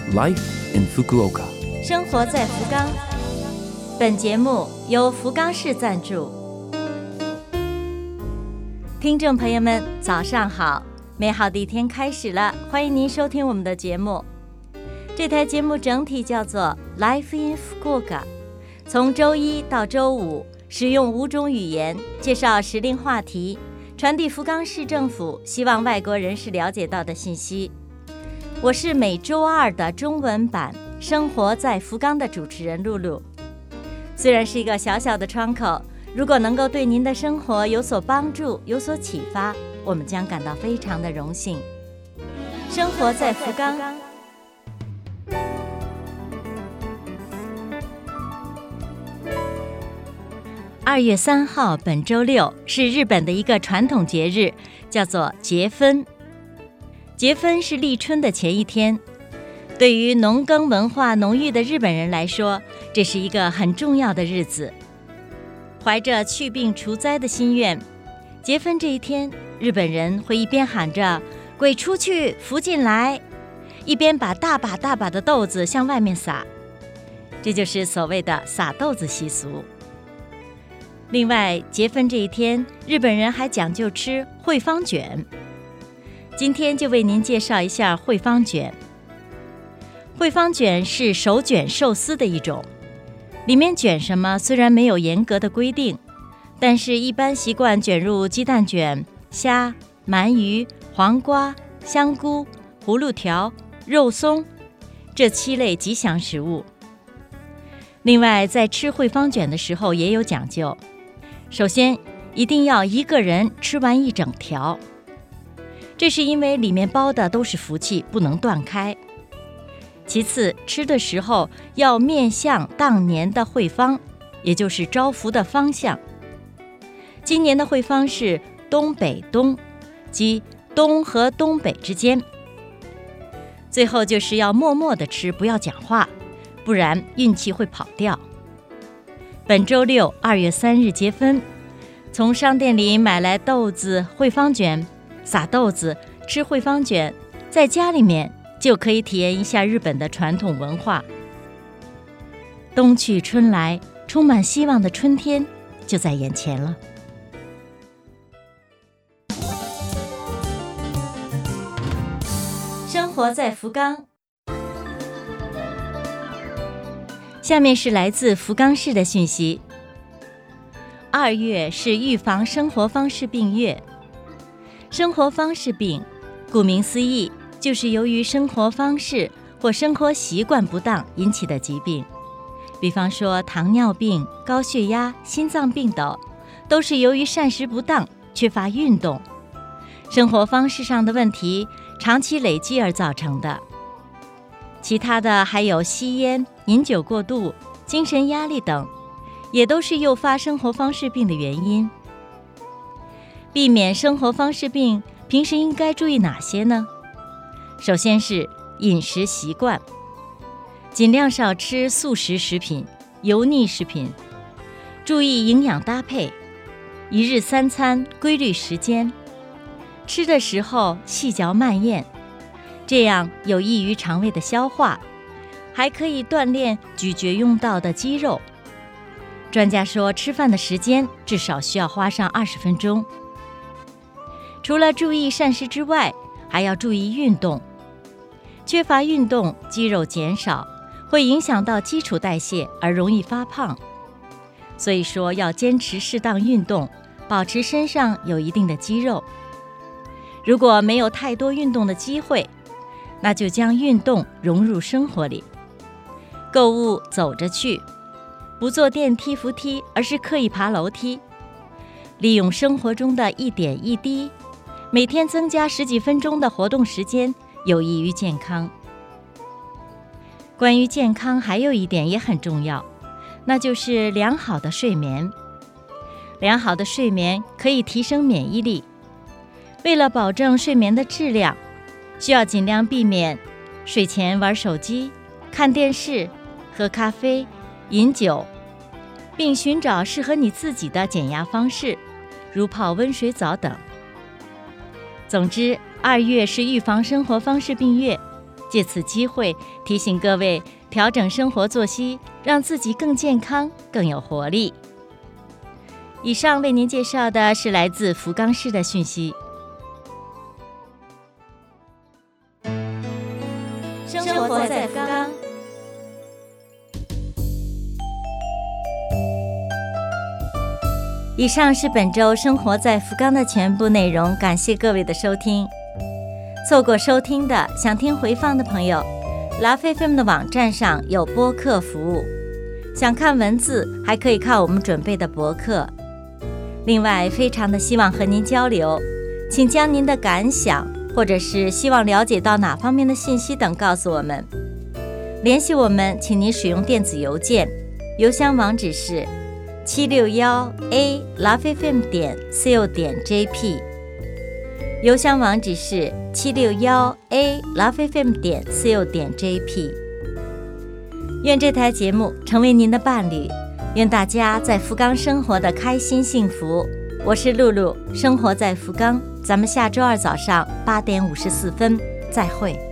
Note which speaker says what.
Speaker 1: Life in Fukuoka，
Speaker 2: 生活在福冈。本节目由福冈市赞助。听众朋友们，早上好！美好的一天开始了，欢迎您收听我们的节目。这台节目整体叫做 Life in Fukuoka， 从周一到周五，使用5种语言介绍时令话题，传递福冈市政府希望外国人士了解到的信息。我是每周二的中文版《生活在福冈》的主持人露露。虽然是一个小小的窗口，如果能够对您的生活有所帮助、有所启发，我们将感到非常的荣幸。生活在福冈。2月3号，本周六是日本的一个传统节日，叫做节分。节分是立春的前一天，对于农耕文化浓郁的日本人来说，这是一个很重要的日子。怀着去病除灾的心愿，节分这一天，日本人会一边喊着“鬼出去，福进来”，一边把大把大把的豆子向外面撒，这就是所谓的撒豆子习俗。另外，节分这一天，日本人还讲究吃惠方卷。今天就为您介绍一下惠方卷。惠方卷是手卷寿司的一种，里面卷什么虽然没有严格的规定，但是一般习惯卷入鸡蛋卷、虾、鳗鱼、黄瓜、香菇、葫芦条、肉松这7类吉祥食物。另外，在吃惠方卷的时候也有讲究，首先一定要一个人吃完一整条，这是因为里面包的都是福气，不能断开。其次，吃的时候要面向当年的惠方，也就是招福的方向。今年的惠方是东北东，即东和东北之间。最后就是要默默地吃，不要讲话，不然运气会跑掉。本周六2月3日节分，从商店里买来豆子、惠方卷，撒豆子，吃惠方卷，在家里面就可以体验一下日本的传统文化。冬去春来，充满希望的春天就在眼前了。生活在福冈。下面是来自福冈市的讯息。2月是预防生活方式病月。生活方式病，顾名思义，就是由于生活方式或生活习惯不当引起的疾病。比方说糖尿病、高血压、心脏病等，都是由于膳食不当、缺乏运动、生活方式上的问题长期累积而造成的。其他的还有吸烟、饮酒过度、精神压力等，也都是诱发生活方式病的原因。避免生活方式病，平时应该注意哪些呢？首先是饮食习惯，尽量少吃速食食品、油腻食品，注意营养搭配，一日3餐规律时间，吃的时候细嚼慢咽，这样有益于肠胃的消化，还可以锻炼咀嚼用到的肌肉。专家说，吃饭的时间至少需要花上20分钟。除了注意膳食之外，还要注意运动。缺乏运动，肌肉减少，会影响到基础代谢而容易发胖。所以说要坚持适当运动，保持身上有一定的肌肉。如果没有太多运动的机会，那就将运动融入生活里。购物走着去，不坐电梯扶梯，而是刻意爬楼梯。利用生活中的一点一滴，每天增加10几分钟的活动时间，有益于健康。关于健康还有一点也很重要，那就是良好的睡眠。良好的睡眠可以提升免疫力。为了保证睡眠的质量，需要尽量避免睡前玩手机、看电视、喝咖啡、饮酒，并寻找适合你自己的减压方式，如泡温水澡等。总之，2月是预防生活方式病月， 借此机会提醒各位调整生活作息，让自己更健康、更有活力。以上为您介绍的是来自福冈市的讯息。生活在福冈。以上是本周生活在福冈的全部内容，感谢各位的收听。错过收听的，想听回放的朋友，Love FM 的网站上有播客服务，想看文字还可以看我们准备的博客。另外，非常的希望和您交流，请将您的感想或者是希望了解到哪方面的信息等告诉我们。联系我们，请您使用电子邮件，邮箱网址是761a lovefm.co.jp， 邮箱网址是761a lovefm.co.jp。 愿这台节目成为您的伴侣，愿大家在福冈生活的开心幸福。我是露露，生活在福冈，咱们下周二早上8点54分再会。